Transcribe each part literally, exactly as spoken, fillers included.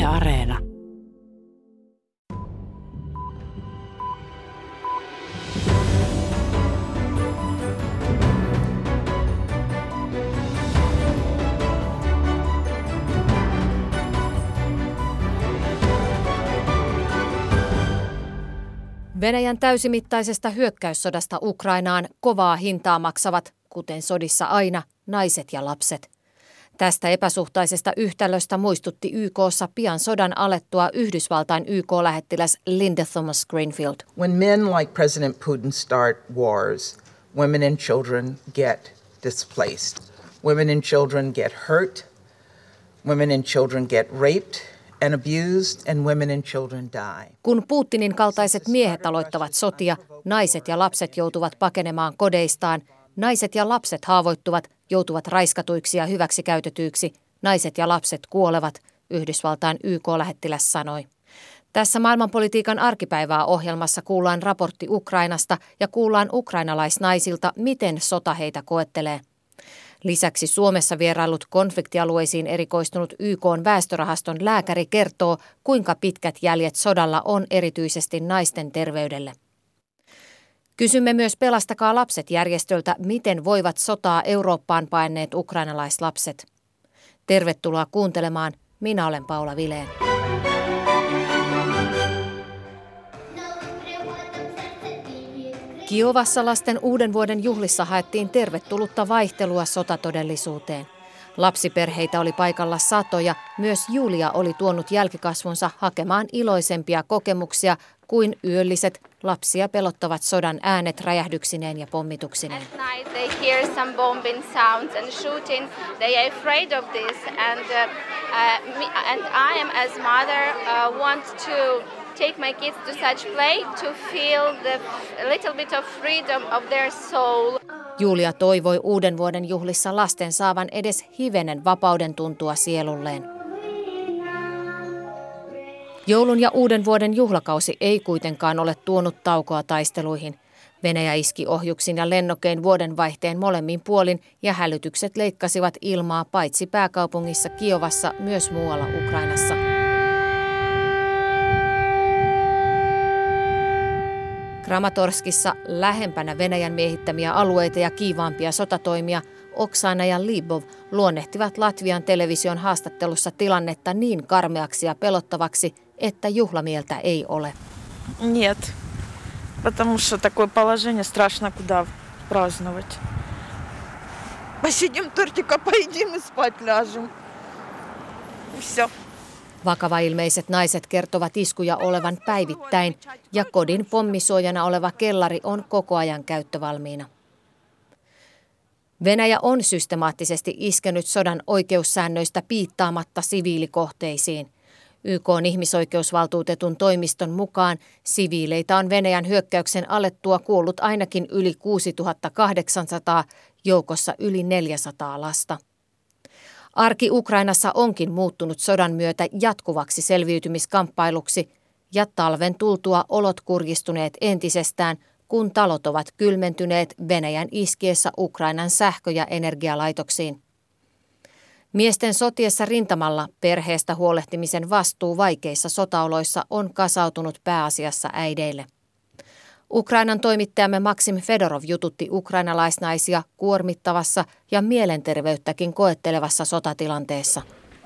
Areena. Venäjän täysimittaisesta hyökkäyssodasta Ukrainaan kovaa hintaa maksavat, kuten sodissa aina, naiset ja lapset. Tästä epäsuhtaisesta yhtälöstä muistutti Y K:ssa pian sodan alettua Yhdysvaltain Y K-lähettiläs Linda Thomas Greenfield. When men like President Putin start wars, women and children get displaced. Women and children get hurt. Women and children get raped and abused, and women and children die. Kun Putinin kaltaiset miehet aloittavat sotia, naiset ja lapset joutuvat pakenemaan kodeistaan, naiset ja lapset haavoittuvat, joutuvat raiskatuiksi ja hyväksikäytetyiksi, naiset ja lapset kuolevat, Yhdysvaltain Y K-lähettiläs sanoi. Tässä maailmanpolitiikan arkipäivää ohjelmassa kuullaan raportti Ukrainasta ja kuullaan ukrainalaisnaisilta, miten sota heitä koettelee. Lisäksi Suomessa vierailut konfliktialueisiin erikoistunut Y K:n väestörahaston lääkäri kertoo, kuinka pitkät jäljet sodalla on erityisesti naisten terveydelle. Kysymme myös Pelastakaa lapset -järjestöltä, miten voivat sotaa Eurooppaan paenneet ukrainalaislapset. Tervetuloa kuuntelemaan. Minä olen Paula Vileen. Kiovassa lasten uuden vuoden juhlissa haettiin tervetullutta vaihtelua sotatodellisuuteen. Lapsiperheitä oli paikalla satoja, myös Julia oli tuonut jälkikasvunsa hakemaan iloisempia kokemuksia kuin yölliset lapsia pelottavat sodan äänet räjähdyksineen ja pommituksineen. Take my kids to such play to feel the little bit of freedom of their soul. Julia toivoi uuden vuoden juhlissa lasten saavan edes hivenen vapauden tuntua sielulleen. Joulun ja uuden vuoden juhlakausi ei kuitenkaan ole tuonut taukoa taisteluihin. Venäjä iski ohjuksin ja lennokein vuodenvaihteen molemmin puolin ja hälytykset leikkasivat ilmaa paitsi pääkaupungissa Kiovassa myös muualla Ukrainassa. Kramatorskissa lähempänä Venäjän miehittämiä alueita ja kiivaampia sotatoimia Oksana ja Libov luonnehtivat Latvian television haastattelussa tilannetta niin karmeaksi ja pelottavaksi, että juhlamieltä ei ole. Нет, потому что такое положение страшно куда праздновать. Посидим тортика, поедим и спать ляжем. Всё. Vakavailmeiset naiset kertovat iskuja olevan päivittäin ja kodin pommisuojana oleva kellari on koko ajan käyttövalmiina. Venäjä on systemaattisesti iskenyt sodan oikeussäännöistä piittaamatta siviilikohteisiin. Y K:n ihmisoikeusvaltuutetun toimiston mukaan siviileitä on Venäjän hyökkäyksen alettua kuollut ainakin yli kuusituhatta kahdeksansataa, joukossa yli neljäsataa lasta. Arki Ukrainassa onkin muuttunut sodan myötä jatkuvaksi selviytymiskamppailuksi ja talven tultua olot kurjistuneet entisestään, kun talot ovat kylmentyneet Venäjän iskiessä Ukrainan sähkö- ja energialaitoksiin. Miesten sotiessa rintamalla perheestä huolehtimisen vastuu vaikeissa sotaoloissa on kasautunut pääasiassa äideille. Ukrainan toimittajamme Maksim Fedorov jututti ukrainalaisnaisia kuormittavassa ja mielenterveyttäkin koettelevassa sotatilanteessa.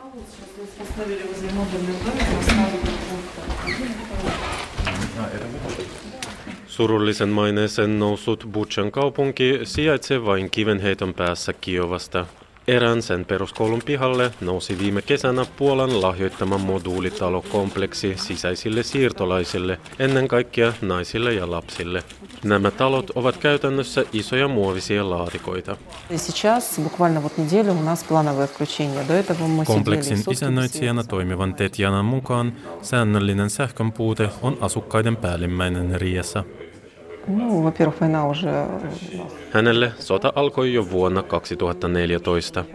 Surullisen maineeseen noussut Butšan kaupunki sijaitsee vain kivenheiton päässä Kiovasta. Erään sen peruskoulun pihalle nousi viime kesänä Puolan lahjoittama moduulitalokompleksi sisäisille siirtolaisille, ennen kaikkea naisille ja lapsille. Nämä talot ovat käytännössä isoja muovisia laatikoita. Kompleksin isännöitsijänä toimivan Tetjanan mukaan säännöllinen sähkön puute on asukkaiden päällimmäinen riesa. Hänelle sota alkoi jo vuonna kaksituhattaneljätoista.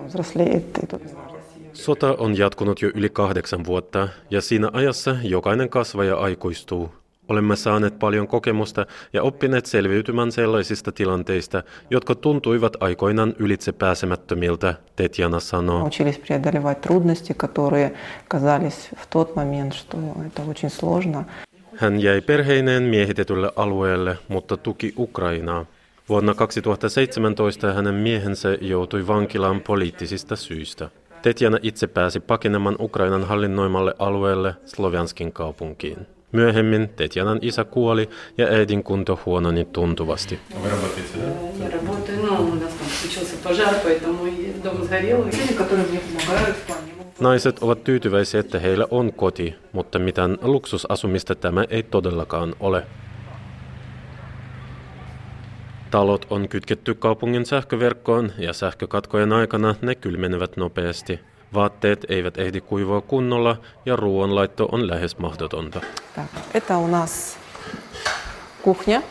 Sota on jatkunut jo yli kahdeksan vuotta ja siinä ajassa jokainen kasvaja aikuistuu. Olemme saaneet paljon kokemusta ja oppineet selviytymään sellaisista tilanteista, jotka tuntuivat aikoinaan ylitsepääsemättömiltä, Tetjana sanoo. Учились преодолевать трудности, которые казались в тот момент, что это очень сложно. Hän jäi perheineen miehitetylle alueelle, mutta tuki Ukrainaa. Vuonna kaksituhattaseitsemäntoista hänen miehensä joutui vankilaan poliittisista syistä. Tetjana itse pääsi pakenemaan Ukrainan hallinnoimalle alueelle Slovjanskin kaupunkiin. Myöhemmin Tetjanan isä kuoli ja äidin kunto huononi tuntuvasti. Naiset ovat tyytyväisiä, että heillä on koti, mutta mitään luksusasumista tämä ei todellakaan ole. Talot on kytketty kaupungin sähköverkkoon ja sähkökatkojen aikana ne kylmenevät nopeasti. Vaatteet eivät ehdi kuivua kunnolla ja ruoanlaitto on lähes mahdotonta. Это у нас кухня,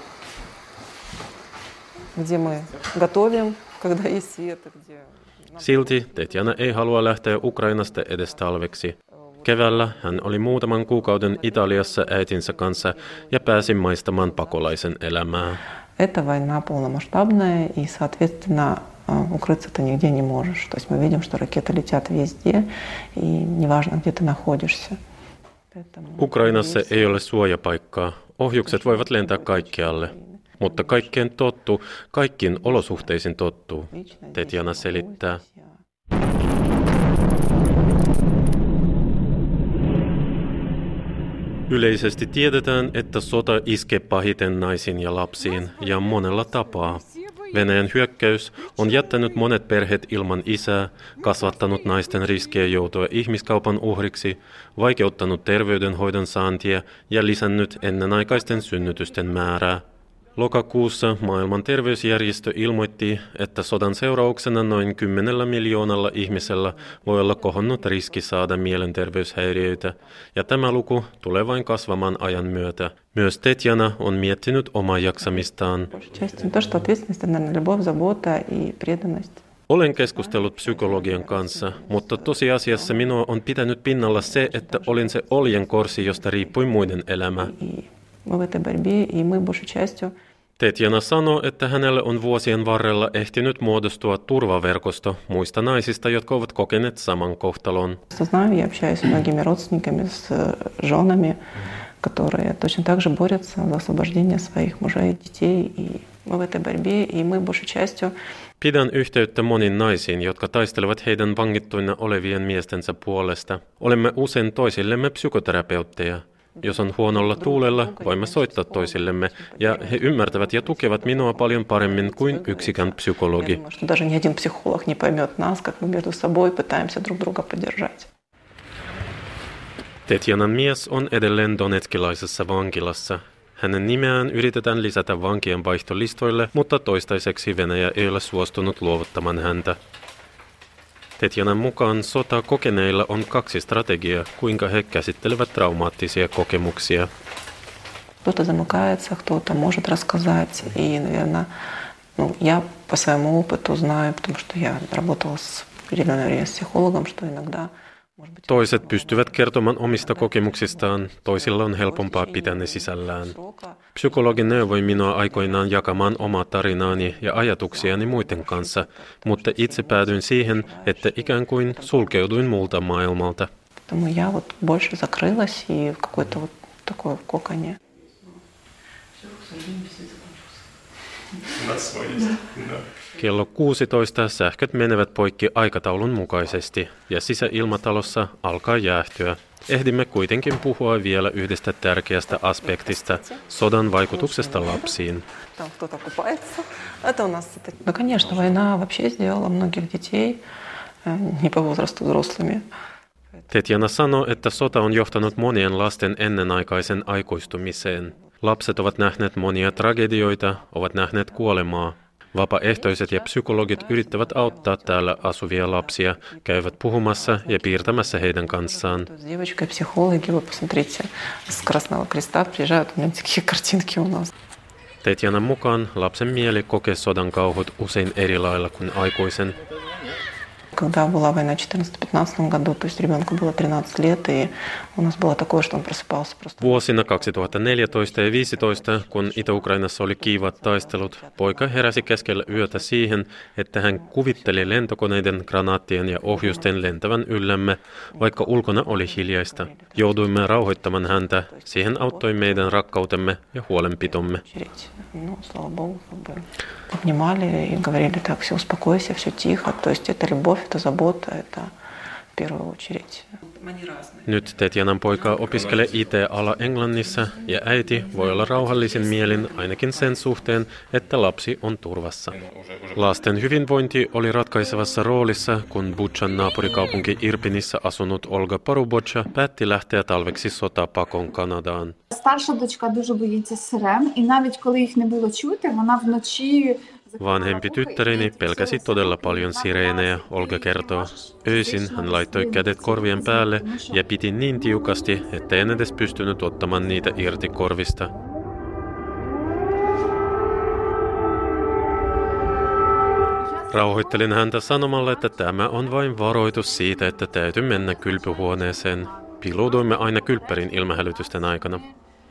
где мы готовим, когда есть свет, где... Silti Tetjana ei halua lähteä Ukrainasta edes talveksi. Keväällä hän oli muutaman kuukauden Italiassa äitinsä kanssa ja pääsi maistamaan pakolaisen elämää. Это война полномасштабная, и, соответственно, укрыться ты нигде не можешь. То есть мы видим, что ракеты летят везде, и неважно, где ты находишься. Ukrainassa ei ole suojapaikkaa. Ohjukset voivat lentää kaikkialle. Mutta kaikkeen tottuu, kaikkiin olosuhteisiin tottuu, Tetjana selittää. Yleisesti tiedetään, että sota iskee pahiten naisiin ja lapsiin ja monella tapaa. Venäjän hyökkäys on jättänyt monet perheet ilman isää, kasvattanut naisten riskejä joutua ihmiskaupan uhriksi, vaikeuttanut terveydenhoidon saantia ja lisännyt ennenaikaisten synnytysten määrää. Lokakuussa maailman terveysjärjestö ilmoitti, että sodan seurauksena noin kymmenellä miljoonalla ihmisellä voi olla kohonnut riski saada mielenterveyshäiriöitä, ja tämä luku tulee vain kasvamaan ajan myötä. Myös Tetjana on miettinyt omaa jaksamistaan. Olen keskustellut psykologian kanssa, mutta tosiasiassa minua on pitänyt pinnalla se, että olin se oljenkorsi, josta riippui muiden elämä. Tetjana sanoo, että hänelle on vuosien varrella ehtinyt muodostua turvaverkosto muista naisista, jotka ovat kokeneet saman kohtalon. Pidän yhteyttä moniin naisiin, jotka taistelevat heidän vangittuina olevien miestensä puolesta. Olemme usein toisillemme psykoterapeutteja. Jos on huonolla tuulella, voimme soittaa toisillemme, ja he ymmärtävät ja tukevat minua paljon paremmin kuin yksikään psykologi. Tetjanan mies on edelleen donetskilaisessa vankilassa. Hänen nimeään yritetään lisätä vankien vaihtolistoille, mutta toistaiseksi Venäjä ei ole suostunut luovuttamaan häntä. Tetjanan mukaan sota kokeneilla on kaksi strategiaa, kuinka he käsittelevät traumaattisia kokemuksia. Кто-то замыкается, кто-то может рассказать. И, наверное, ну, я по своему опыту знаю, потому что я работала с определенное время с психологом, что иногда... Toiset pystyvät kertomaan omista kokemuksistaan, toisilla on helpompaa pitää ne sisällään. Psykologi neuvoi minua aikoinaan jakamaan omaa tarinaani ja ajatuksiani muiden kanssa, mutta itse päädyin siihen, että ikään kuin sulkeuduin muulta maailmalta. Kello kuusitoista sähköt menevät poikki aikataulun mukaisesti ja sisäilmatalossa alkaa jäähtyä. Ehdimme kuitenkin puhua vielä yhdestä tärkeästä aspektista, sodan vaikutuksesta lapsiin. Tetjana sanoo, että sota on johtanut monien lasten ennenaikaisen aikuistumiseen. Lapset ovat nähneet monia tragedioita, ovat nähneet kuolemaa. Vapaaehtoiset ja psykologit yrittävät auttaa täällä asuvia lapsia, käyvät puhumassa ja piirtämässä heidän kanssaan. Tetjanan mukaan lapsen mieli kokee sodan kauhut usein eri lailla kuin aikuisen. когда была война в четырнадцатом-пятнадцатом году, то есть ребенку было тринадцать лет, и у нас было такое, что он просыпался просто. Vuosina kaksituhattaneljätoista ja viisitoista, kun Itä-Ukrainassa oli kiivat taistelut, poika heräsi keskellä yötä siihen, että hän kuvitteli lentokoneiden, granaattien ja ohjusten lentävän yllämme, vaikka ulkona oli hiljaista. Jouduimme rauhoittamaan häntä, siihen auttoi meidän rakkautemme ja huolenpitomme. Ну, слава богу, как бы обнимали и говорили: так, все, успокойся, все тихо. То есть это любовь, это забота, это в первую очередь. Nyt Tetjanan poika opiskelee I T-ala Englannissa ja äiti voi olla rauhallisin mielin ainakin sen suhteen, että lapsi on turvassa. Lasten hyvinvointi oli ratkaisevassa roolissa, kun Buchan naapurikaupunki Irpinissä asunut Olga Paruboccia päätti lähteä talveksi sotapakon Kanadaan. Старша дочка дуже боїться сирен, і навіть коли їх не було чути, вона вночі. Vanhempi tyttäreni pelkäsi todella paljon sireenejä, Olga kertoo. Öisin hän laittoi kädet korvien päälle ja piti niin tiukasti, ettei en edes pystynyt ottamaan niitä irti korvista. Rauhoittelin häntä sanomalla, että tämä on vain varoitus siitä, että täytyy mennä kylpyhuoneeseen. Piilouduimme aina kylppärin ilmahälytysten aikana.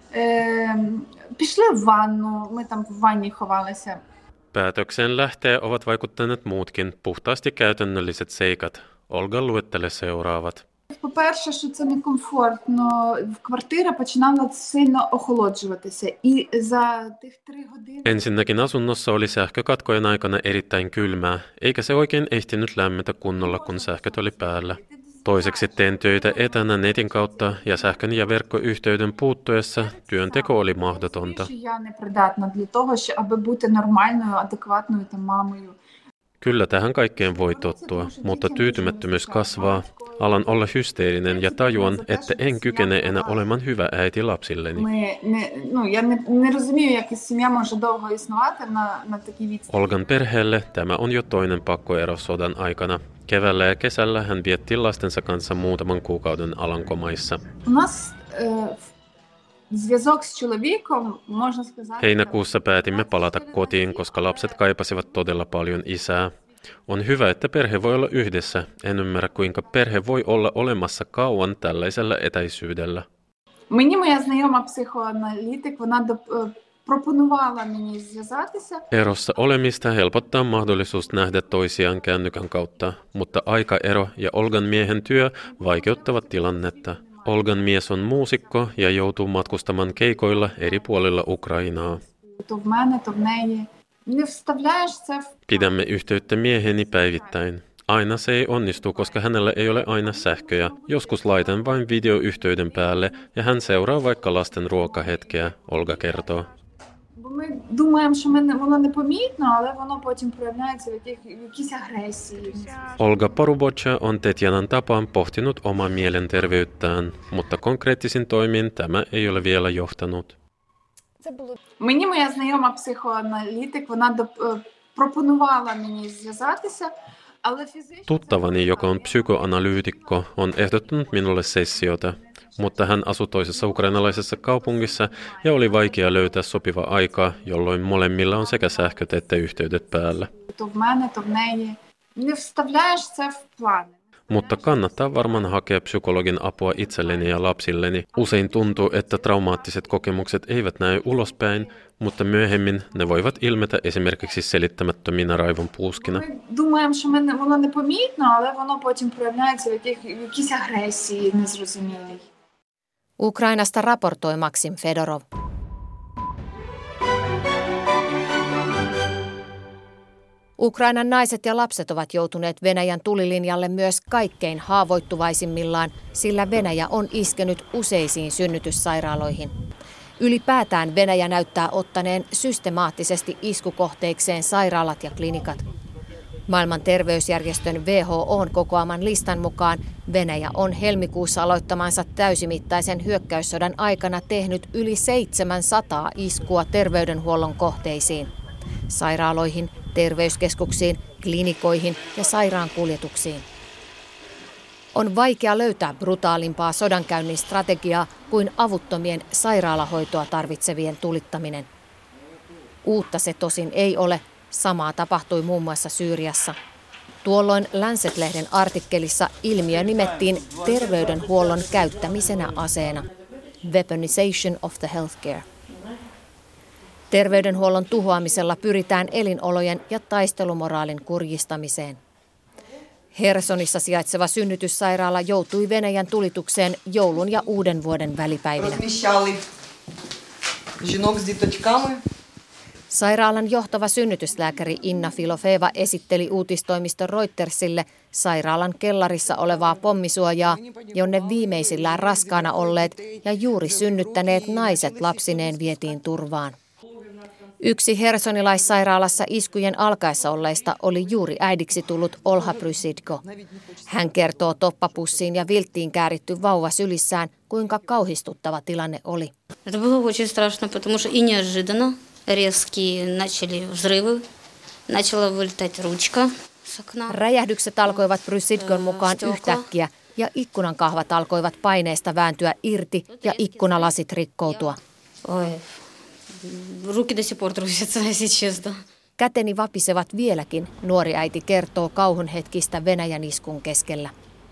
Пішли в ванну, ми там в ванні ховалися. Päätökseen lähteä ovat vaikuttaneet muutkin puhtaasti käytännölliset seikat. Olga luettelee seuraavat. По-перше, що це некомфортно. Квартира починала сильно охолоджуватися. І за тих три години... Ensinnäkin asunnossa oli sähkökatkojen aikana erittäin kylmää, eikä se oikein ehtinyt lämmetä kunnolla, kun sähköt oli päällä. Toiseksi teen töitä etänä netin kautta ja sähkön ja verkkoyhteyden puuttuessa työnteko oli mahdotonta. Я непридатна для того, аби бути нормальною, адекватною та мамою. Kyllä tähän kaikkeen voi tottua, mutta tyytymättömyys kasvaa. Alan olla hysteerinen ja tajuan, että en kykene enää olemaan hyvä äiti lapsilleni. Olgan perheelle tämä on jo toinen pakkoero sodan aikana. Keväällä ja kesällä hän vietti lastensa kanssa muutaman kuukauden Alankomaissa. Heinäkuussa päätimme palata kotiin, koska lapset kaipasivat todella paljon isää. On hyvä, että perhe voi olla yhdessä. En ymmärrä, kuinka perhe voi olla olemassa kauan tällaisella etäisyydellä. Мені моя знайома психоаналітик, вона пропонувала мені зв'язатися. Erossa olemista helpottaa mahdollisuus nähdä toisiaan kännykän kautta, mutta aikaero ja Olgan miehen työ vaikeuttavat tilannetta. Olgan mies on muusikko ja joutuu matkustamaan keikoilla eri puolilla Ukrainaa. То в мене, то в неї. Не вставляєш це в... Pidämme yhteyttä mieheni päivittäin. Aina se ei onnistu, koska hänellä ei ole aina sähköjä. Joskus laitan vain videoyhteyden päälle ja hän seuraa vaikka lasten ruokahetkeä, Olga kertoo. Бо ми думаємо, що ми не, воно непомітно, але воно потім проявляється в, яких, в якійсь агресії. Olga Paruboccia on Tetjanan tapaan pohtinut omaa mielenterveyttään, mutta konkreettisin toimiin tämä ei ole vielä johtanut. Мені моя знайома психоаналітик, вона пропонувала мені зв'язатися, але фізично... Tuttavani, joka on psykoanalyytikko, on ehdottanut minulle sessiota, mutta hän asui toisessa ukrainalaisessa kaupungissa ja oli vaikea löytää sopiva aikaa, jolloin molemmilla on sekä sähköt että yhteydet päällä. То в мене, то в неї. Не вставляєш це в плани. Mutta kannattaa varmaan hakea psykologin apua itselleni ja lapsilleni. Usein tuntuu, että traumaattiset kokemukset eivät näy ulospäin, mutta myöhemmin ne voivat ilmetä esimerkiksi selittämättöminä raivon puuskina. Ми думаємо, що ми, воно непомітно, але воно потім проявляється в, яких, в якійсь агресії незрозумілій. Ukrainasta raportoi Maksim Fedorov. Ukrainan naiset ja lapset ovat joutuneet Venäjän tulilinjalle myös kaikkein haavoittuvaisimmillaan, sillä Venäjä on iskenyt useisiin synnytyssairaaloihin. Ylipäätään Venäjä näyttää ottaneen systemaattisesti iskukohteikseen sairaalat ja klinikat. Maailman terveysjärjestön W H O:n kokoaman listan mukaan Venäjä on helmikuussa aloittamansa täysimittaisen hyökkäyssodan aikana tehnyt yli seitsemänsataa iskua terveydenhuollon kohteisiin, sairaaloihin, terveyskeskuksiin, klinikoihin ja sairaankuljetuksiin. On vaikea löytää brutaalimpaa sodankäynnin strategiaa kuin avuttomien sairaalahoitoa tarvitsevien tulittaminen. Uutta se tosin ei ole. Samaa tapahtui muun muassa Syyriassa. Tuolloin Lancet-lehden artikkelissa ilmiö nimettiin terveydenhuollon käyttämisenä aseena. Weaponization of the healthcare. Terveydenhuollon tuhoamisella pyritään elinolojen ja taistelumoraalin kurjistamiseen. Hersonissa sijaitseva synnytyssairaala joutui Venäjän tulitukseen joulun ja uuden vuoden välipäivinä. Sairaalan johtava synnytyslääkäri Inna Filofeva esitteli uutistoimisto Reutersille sairaalan kellarissa olevaa pommisuojaa, jonne viimeisillään raskaana olleet ja juuri synnyttäneet naiset lapsineen vietiin turvaan. Yksi hersonilaissairaalassa iskujen alkaessa olleista oli juuri äidiksi tullut Olha Prysidko. Hän kertoo toppapussiin ja vilttiin kääritty vauva sylissään, kuinka kauhistuttava tilanne oli. Räjähdykset alkoivat Prysidkon mukaan yhtäkkiä ja ikkunan kahvat alkoivat paineesta vääntyä irti ja ikkunalasit rikkoutua. Käteni vapisevat vieläkin, nuori äiti kertoo kauhun hetkistä Venäjän iskun keskellä.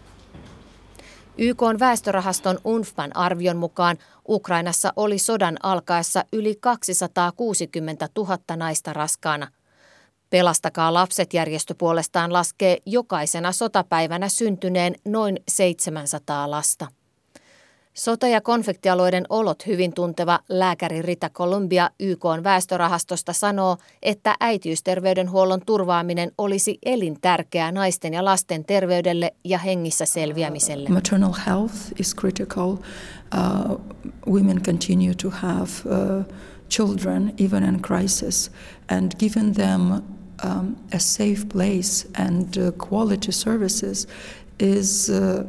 Y K:n väestörahaston U N F P A:n arvion mukaan Ukrainassa oli sodan alkaessa yli kaksisataakuusikymmentätuhatta naista raskaana. Pelastakaa lapset -järjestö puolestaan laskee jokaisena sotapäivänä syntyneen noin seitsemänsataa lasta. Sota- ja konfliktialueiden olot hyvin tunteva lääkäri Rita Columbia Y K:n väestörahastosta sanoo, että äitiysterveydenhuollon turvaaminen olisi elintärkeää naisten ja lasten terveydelle ja hengissä selviämiselle. Maternal health is critical. Uh, women continue to have uh, children even in crisis, and giving them um, a safe place and uh, quality services is uh,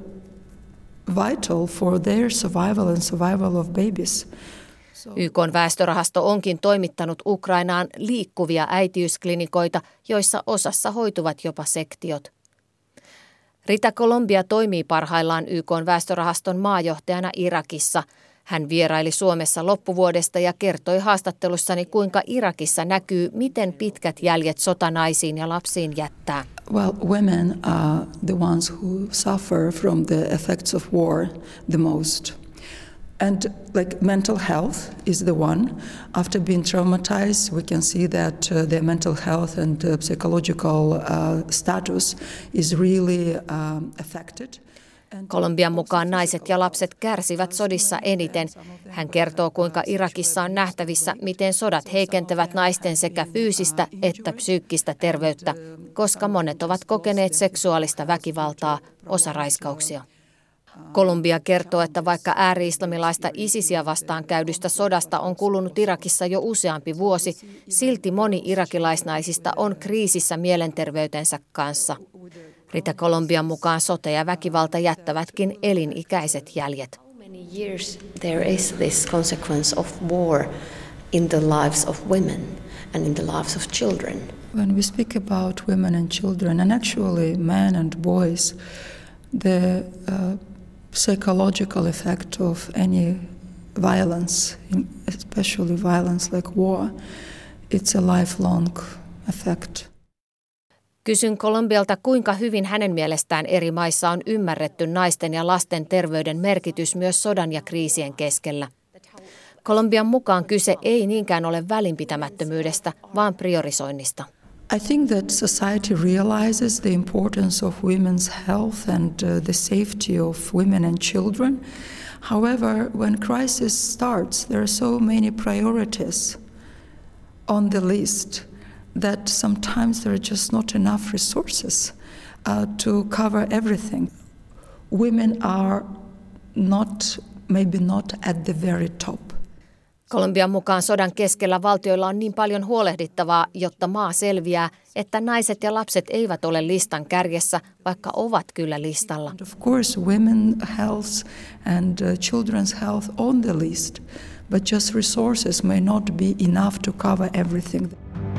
vital for their survival and survival of babies. Y K:n väestörahasto onkin toimittanut Ukrainaan liikkuvia äitiysklinikoita, joissa osassa hoituvat jopa sektiot. Rita Columbia toimii parhaillaan Y K:n väestörahaston maajohtajana Irakissa. Hän vieraili Suomessa loppuvuodesta ja kertoi haastattelussani, kuinka Irakissa näkyy, miten pitkät jäljet sota naisiin ja lapsiin jättää. Well, women are the ones who suffer from the effects of war the most. And like mental health is the one. After being traumatized, we can see that uh, their mental health and uh, psychological uh, status is really uh, affected. Kolumbian mukaan naiset ja lapset kärsivät sodissa eniten. Hän kertoo, kuinka Irakissa on nähtävissä, miten sodat heikentävät naisten sekä fyysistä että psyykkistä terveyttä, koska monet ovat kokeneet seksuaalista väkivaltaa, osa raiskauksia. Kolumbia kertoo, että vaikka ääri-islamilaista ISISiä vastaan käydystä sodasta on kulunut Irakissa jo useampi vuosi, silti moni irakilaisnaisista on kriisissä mielenterveytensä kanssa. Rita Colombian mukaan sota ja väkivalta jättävätkin elinikäiset jäljet. There is this consequence of war in the lives of women and in the lives of children. When we speak about women and children, and actually men and boys, the uh, psychological effect of any violence, especially violence like war, it's a lifelong effect. Kysyn Kolumbialta, kuinka hyvin hänen mielestään eri maissa on ymmärretty naisten ja lasten terveyden merkitys myös sodan ja kriisien keskellä. Kolumbian mukaan kyse ei niinkään ole välinpitämättömyydestä, vaan priorisoinnista. I think that society realizes the importance of women's health and uh, the safety of women and children. However, when crisis starts, there are so many priorities on the list that sometimes there are just not enough resources uh, to cover everything. Women are not, maybe not at the very top. Kolumbian mukaan sodan keskellä valtioilla on niin paljon huolehdittavaa, jotta maa selviää, että naiset ja lapset eivät ole listan kärjessä, vaikka ovat kyllä listalla. And of course, women's health and uh, children's health on the list, but just resources may not be enough to cover everything.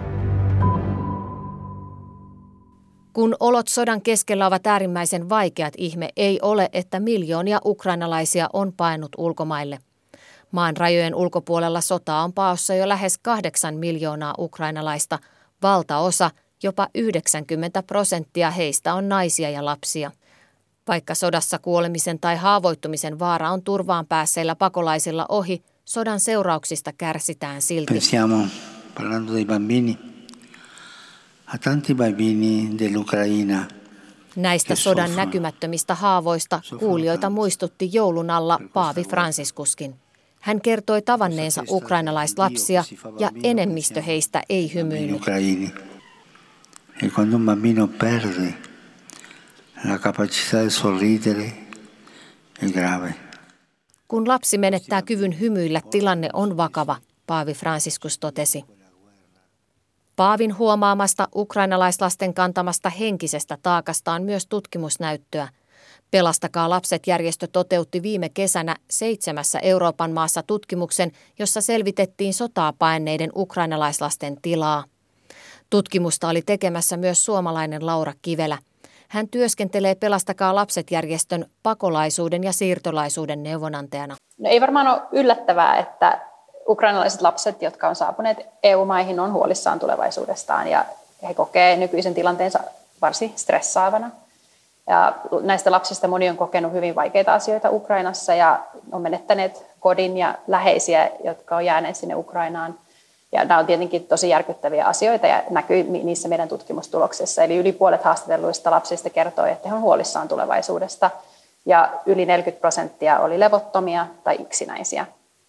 Kun olot sodan keskellä ovat äärimmäisen vaikeat, ihme ei ole, että miljoonia ukrainalaisia on paennut ulkomaille. Maan rajojen ulkopuolella sotaa on paossa jo lähes kahdeksan miljoonaa ukrainalaista, valtaosa Jopa yhdeksänkymmentä prosenttia heistä on naisia ja lapsia. Vaikka sodassa kuolemisen tai haavoittumisen vaara on turvaan päässeillä pakolaisilla ohi, sodan seurauksista kärsitään silti. Pensiamo, parlando dei bambini, a tanti bambini dell'Ucraina. Näistä sodan näkymättömistä haavoista kuulijoita muistutti joulun alla paavi Franciscuskin. Hän kertoi tavanneensa ukrainalaislapsia ja enemmistö heistä ei hymyillyt. E quando un bambino perde la capacità di sorridere è grave. Kun lapsi menettää kyvyn hymyillä, tilanne on vakava, paavi Franciscus totesi. Paavin huomaamasta ukrainalaislasten kantamasta henkisestä taakasta on myös tutkimusnäyttöä. Pelastakaa lapset -järjestö toteutti viime kesänä seitsemässä Euroopan maassa tutkimuksen, jossa selvitettiin sotaa paenneiden ukrainalaislasten tilaa. Tutkimusta oli tekemässä myös suomalainen Laura Kivelä. Hän työskentelee Pelastakaa lapset -järjestön pakolaisuuden ja siirtolaisuuden neuvonantajana. No ei varmaan ole yllättävää, että ukrainalaiset lapset, jotka on saapuneet E U-maihin, on huolissaan tulevaisuudestaan ja he kokee nykyisen tilanteensa varsin stressaavana. Ja näistä lapsista moni on kokenut hyvin vaikeita asioita Ukrainassa ja on menettäneet kodin ja läheisiä, jotka on jääneet sinne Ukrainaan. Ja nämä on tietenkin tosi järkyttäviä asioita ja näkyy niissä meidän tutkimustuloksissa. Eli yli puolet haastatelluista lapsista kertoi, että he on huolissaan tulevaisuudesta ja yli neljäkymmentä prosenttia oli levottomia tai yksinäisiä.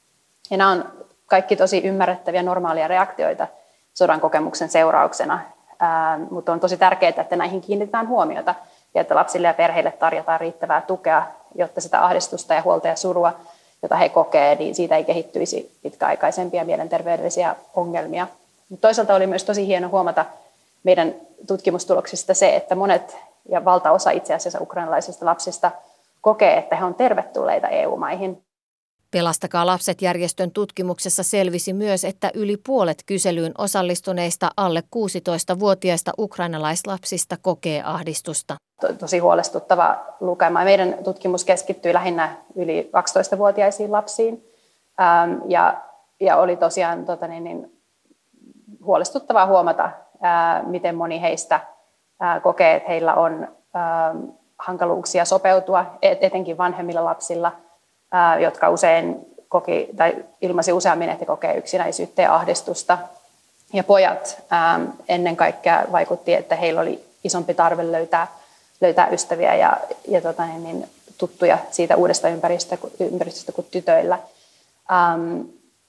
Ja nämä on kaikki tosi ymmärrettäviä normaalia reaktioita sodan kokemuksen seurauksena, Ää, mutta on tosi tärkeää, että näihin kiinnitetään huomiota ja että lapsille ja perheille tarjotaan riittävää tukea, jotta sitä ahdistusta ja huolta ja surua, jota he kokee, niin siitä ei kehittyisi pitkäaikaisempia mielenterveydellisiä ongelmia. Mutta toisaalta oli myös tosi hieno huomata meidän tutkimustuloksista se, että monet ja valtaosa itse asiassa ukrainalaisista lapsista kokee, että he on tervetulleita E U-maihin. Pelastakaa lapset -järjestön tutkimuksessa selvisi myös, että yli puolet kyselyyn osallistuneista alle kuusitoistavuotiaista ukrainalaislapsista kokee ahdistusta. Tosi huolestuttava lukema. Meidän tutkimus keskittyi lähinnä yli kaksitoistavuotiaisiin lapsiin ähm, ja, ja oli tosiaan tota niin, niin, huolestuttavaa huomata, äh, miten moni heistä äh, kokee, että heillä on äh, hankaluuksia sopeutua, et, etenkin vanhemmilla lapsilla, äh, jotka usein koki tai ilmaisi useammin, että he kokee yksinäisyyttä ja ahdistusta. Ja pojat ähm, ennen kaikkea vaikutti, että heillä oli isompi tarve löytää löytää ystäviä ja, ja tota, niin, tuttuja siitä uudesta ympäristöstä, ympäristöstä kuin tytöillä. Um,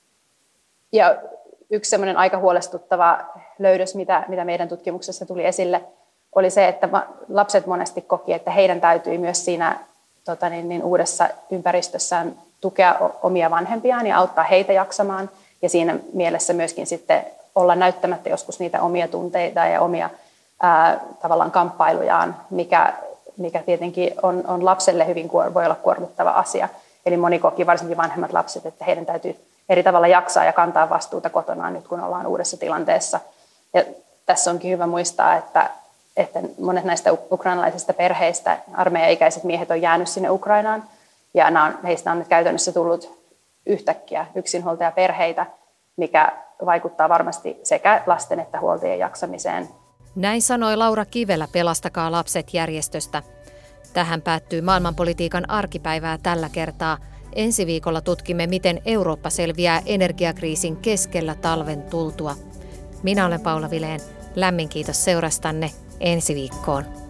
ja yksi semmoinen aika huolestuttava löydös, mitä, mitä meidän tutkimuksessa tuli esille, oli se, että lapset monesti koki, että heidän täytyi myös siinä tota, niin, niin, uudessa ympäristössään tukea omia vanhempiaan ja auttaa heitä jaksamaan. Ja siinä mielessä myöskin sitten olla näyttämättä joskus niitä omia tunteita ja omia Ää, tavallaan kamppailujaan, mikä, mikä tietenkin on, on lapselle hyvin voi olla kuormittava asia. Eli moni koki, varsinkin vanhemmat lapset, että heidän täytyy eri tavalla jaksaa ja kantaa vastuuta kotonaan nyt, kun ollaan uudessa tilanteessa. Ja tässä onkin hyvä muistaa, että, että monet näistä ukrainalaisista perheistä, armeijaikäiset miehet on jäänyt sinne Ukrainaan, ja nämä on, heistä on nyt käytännössä tullut yhtäkkiä yksinhuoltajaperheitä, mikä vaikuttaa varmasti sekä lasten että huoltajien jaksamiseen. Näin sanoi Laura Kivelä Pelastakaa lapset -järjestöstä. Tähän päättyy maailmanpolitiikan arkipäivää tällä kertaa. Ensi viikolla tutkimme, miten Eurooppa selviää energiakriisin keskellä talven tultua. Minä olen Paula Vilén. Lämmin kiitos seurastanne. Ensi viikkoon.